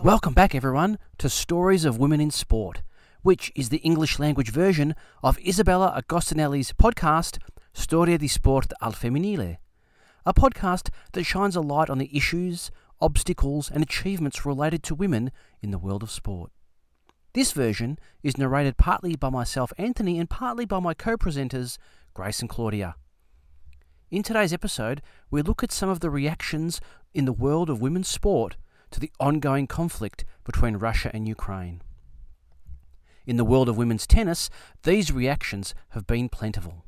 Welcome back, everyone, to Stories of Women in Sport, which is the English language version of Isabella Agostinelli's podcast, Storia di Sport al Femminile, a podcast that shines a light on the issues, obstacles and achievements related to women in the world of sport. This version is narrated partly by myself, Anthony, and partly by my co-presenters, Grace and Claudia. In today's episode, we look at some of the reactions in the world of women's sport to the ongoing conflict between Russia and Ukraine. In the world of women's tennis, these reactions have been plentiful.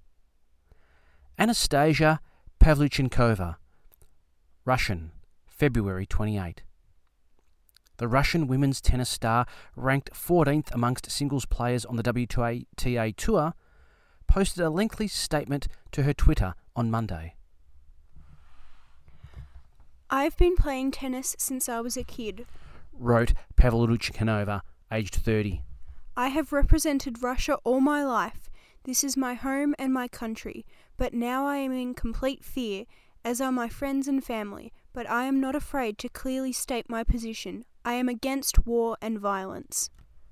Anastasia Pavlyuchenkova, Russian, February 28. The Russian women's tennis star, ranked 14th amongst singles players on the WTA Tour, posted a lengthy statement to her Twitter on Monday. I've been playing tennis since I was a kid, wrote Pavlyuchenkova, aged 30. I have represented Russia all my life. This is my home and my country, but now I am in complete fear, as are my friends and family, but I am not afraid to clearly state my position. I am against war and violence.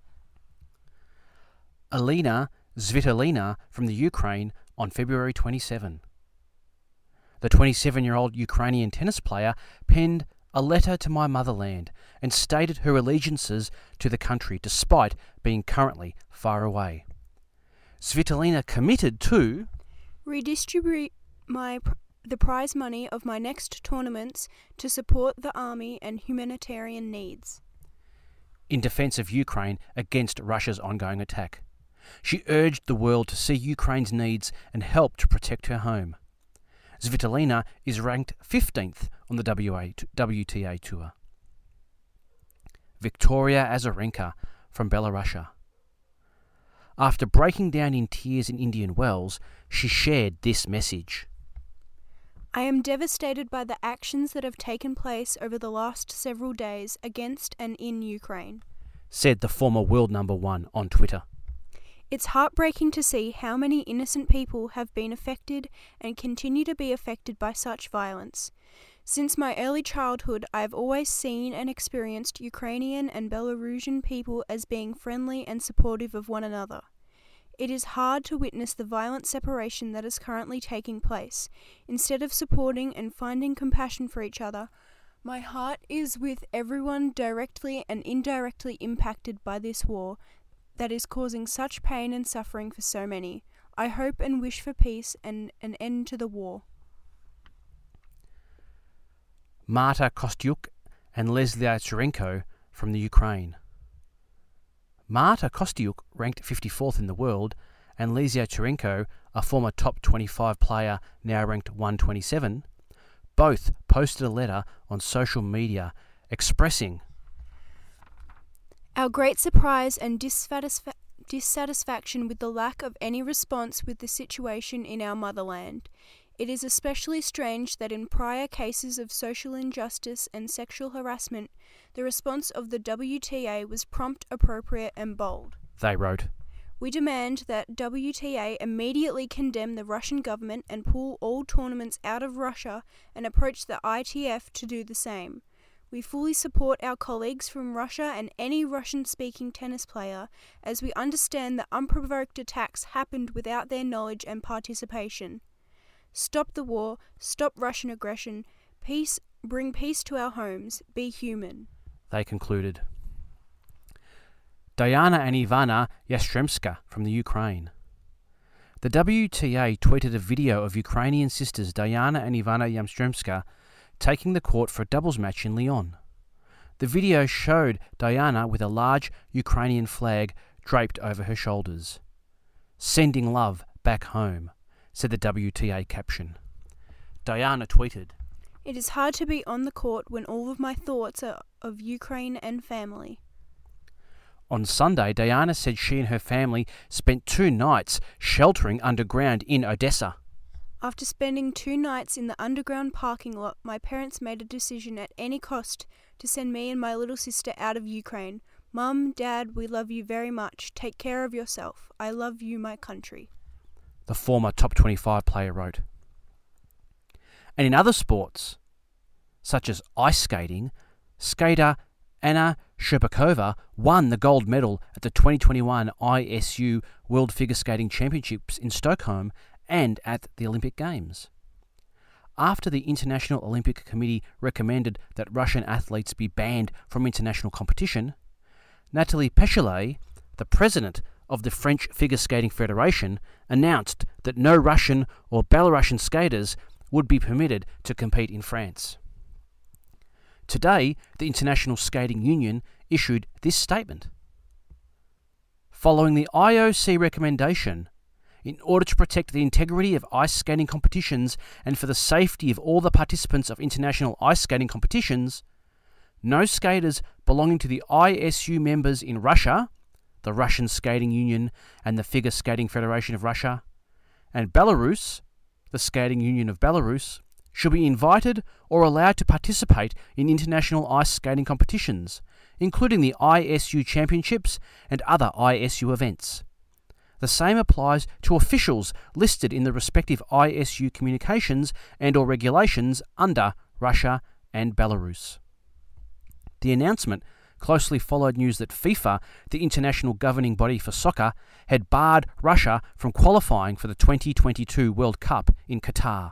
Elena Svitolina from the Ukraine on February 27. The 27-year-old Ukrainian tennis player penned a letter to my motherland and stated her allegiances to the country despite being currently far away. Svitolina committed to redistribute the prize money of my next tournaments to support the army and humanitarian needs. In defence of Ukraine against Russia's ongoing attack. She urged the world to see Ukraine's needs and help to protect her home. Svitolina is ranked 15th on the WTA Tour. Victoria Azarenka from Belarus. After breaking down in tears in Indian Wells, she shared this message. I am devastated by the actions that have taken place over the last several days against and in Ukraine, said the former world number one on Twitter. It's heartbreaking to see how many innocent people have been affected and continue to be affected by such violence. Since my early childhood, I have always seen and experienced Ukrainian and Belarusian people as being friendly and supportive of one another. It is hard to witness the violent separation that is currently taking place. Instead of supporting and finding compassion for each other, my heart is with everyone directly and indirectly impacted by this war that is causing such pain and suffering for so many. I hope and wish for peace and an end to the war. Marta Kostyuk and Leslia Tsurenko from the Ukraine. Marta Kostyuk, ranked 54th in the world, and Leslia Tsurenko, a former top 25 player now ranked 127, both posted a letter on social media expressing our great surprise and dissatisfaction with the lack of any response with the situation in our motherland. It is especially strange that in prior cases of social injustice and sexual harassment, the response of the WTA was prompt, appropriate and bold. They wrote, we demand that WTA immediately condemn the Russian government and pull all tournaments out of Russia and approach the ITF to do the same. We fully support our colleagues from Russia and any Russian-speaking tennis player, as we understand that unprovoked attacks happened without their knowledge and participation. Stop the war, stop Russian aggression, bring peace to our homes, be human. They concluded. Diana and Ivana Yastremska from the Ukraine. The WTA tweeted a video of Ukrainian sisters Diana and Ivana Yastremska taking the court for a doubles match in Lyon. The video showed Diana with a large Ukrainian flag draped over her shoulders. Sending love back home, said the WTA caption. Diana tweeted, it is hard to be on the court when all of my thoughts are of Ukraine and family. On Sunday, Diana said she and her family spent 2 nights sheltering underground in Odessa. After spending 2 nights in the underground parking lot, my parents made a decision at any cost to send me and my little sister out of Ukraine. Mum, Dad, we love you very much. Take care of yourself. I love you, my country. The former top 25 player wrote. And in other sports, such as ice skating, skater Anna Shcherbakova won the gold medal at the 2021 ISU World Figure Skating Championships in Stockholm and at the Olympic Games. After the International Olympic Committee recommended that Russian athletes be banned from international competition, Natalie Pechelet, the president of the French Figure Skating Federation, announced that no Russian or Belarusian skaters would be permitted to compete in France. Today, the International Skating Union issued this statement. Following the IOC recommendation, in order to protect the integrity of ice skating competitions and for the safety of all the participants of international ice skating competitions, no skaters belonging to the ISU members in Russia, the Russian Skating Union and the Figure Skating Federation of Russia, and Belarus, the Skating Union of Belarus, should be invited or allowed to participate in international ice skating competitions, including the ISU Championships and other ISU events. The same applies to officials listed in the respective ISU communications and/or regulations under Russia and Belarus. The announcement closely followed news that FIFA, the international governing body for soccer, had barred Russia from qualifying for the 2022 World Cup in Qatar.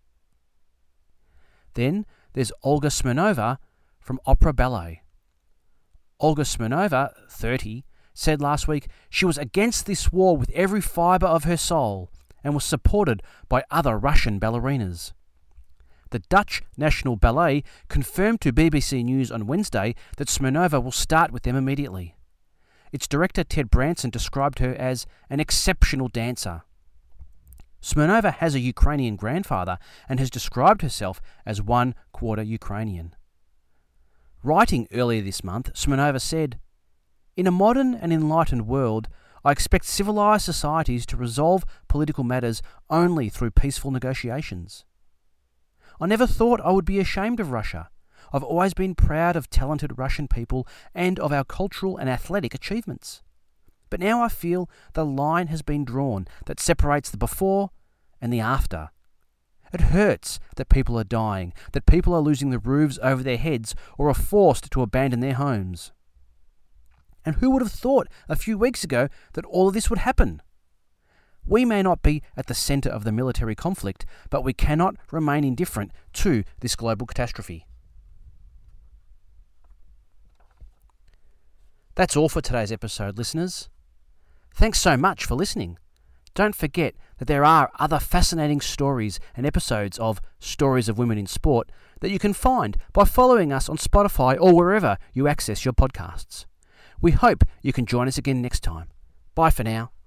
Then there's Olga Smirnova from Opera Ballet. Olga Smirnova, 30, said last week she was against this war with every fibre of her soul and was supported by other Russian ballerinas. The Dutch National Ballet confirmed to BBC News on Wednesday that Smirnova will start with them immediately. Its director Ted Branson described her as an exceptional dancer. Smirnova has a Ukrainian grandfather and has described herself as 1/4 Ukrainian. Writing earlier this month, Smirnova said, "In a modern and enlightened world, I expect civilized societies to resolve political matters only through peaceful negotiations. I never thought I would be ashamed of Russia. I've always been proud of talented Russian people and of our cultural and athletic achievements. But now I feel the line has been drawn that separates the before and the after. It hurts that people are dying, that people are losing the roofs over their heads or are forced to abandon their homes. And who would have thought a few weeks ago that all of this would happen? We may not be at the centre of the military conflict, but we cannot remain indifferent to this global catastrophe." That's all for today's episode, listeners. Thanks so much for listening. Don't forget that there are other fascinating stories and episodes of Stories of Women in Sport that you can find by following us on Spotify or wherever you access your podcasts. We hope you can join us again next time. Bye for now.